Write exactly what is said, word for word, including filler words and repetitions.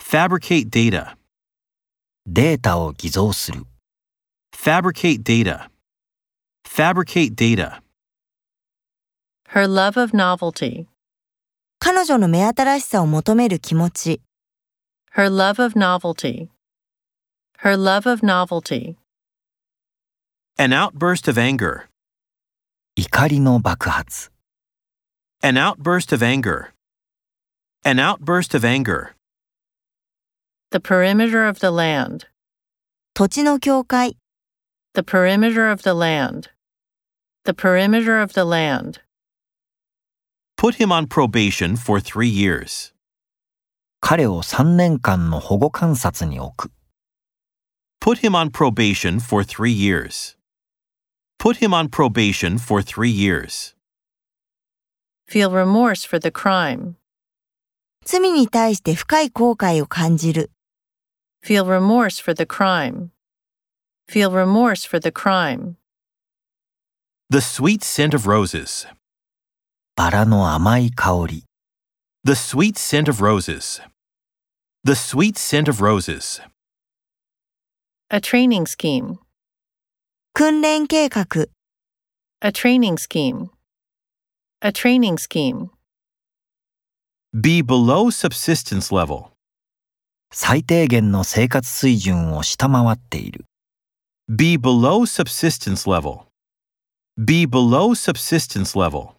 Fabricate data. データを偽造する。 Fabricate data. Fabricate data. Her love of novelty. 彼女の目新しさを求める気持ち。 Her love of novelty. Her love of novelty. An outburst of anger. 怒りの爆発。 An outburst of anger. An outburst of anger. The perimeter of the land. 土地の境界。 The perimeter of the land. The perimeter of the land. Put him on probation for three years. 彼をさんねんかんの保護観察に置く。 Put him on probation for three years. Put him on probation for three years. Feel remorse for the crime. 罪に対して深い後悔を感じる。 Feel remorse for the crime. Feel remorse for the crime. The sweet scent of roses. バラの甘い香り。 The sweet scent of roses. The sweet scent of roses. A training scheme. 訓練計画。 A training scheme. A training scheme. Be below subsistence level. 最低限の生活水準を下回っている。 Be below subsistence level. Be below subsistence level.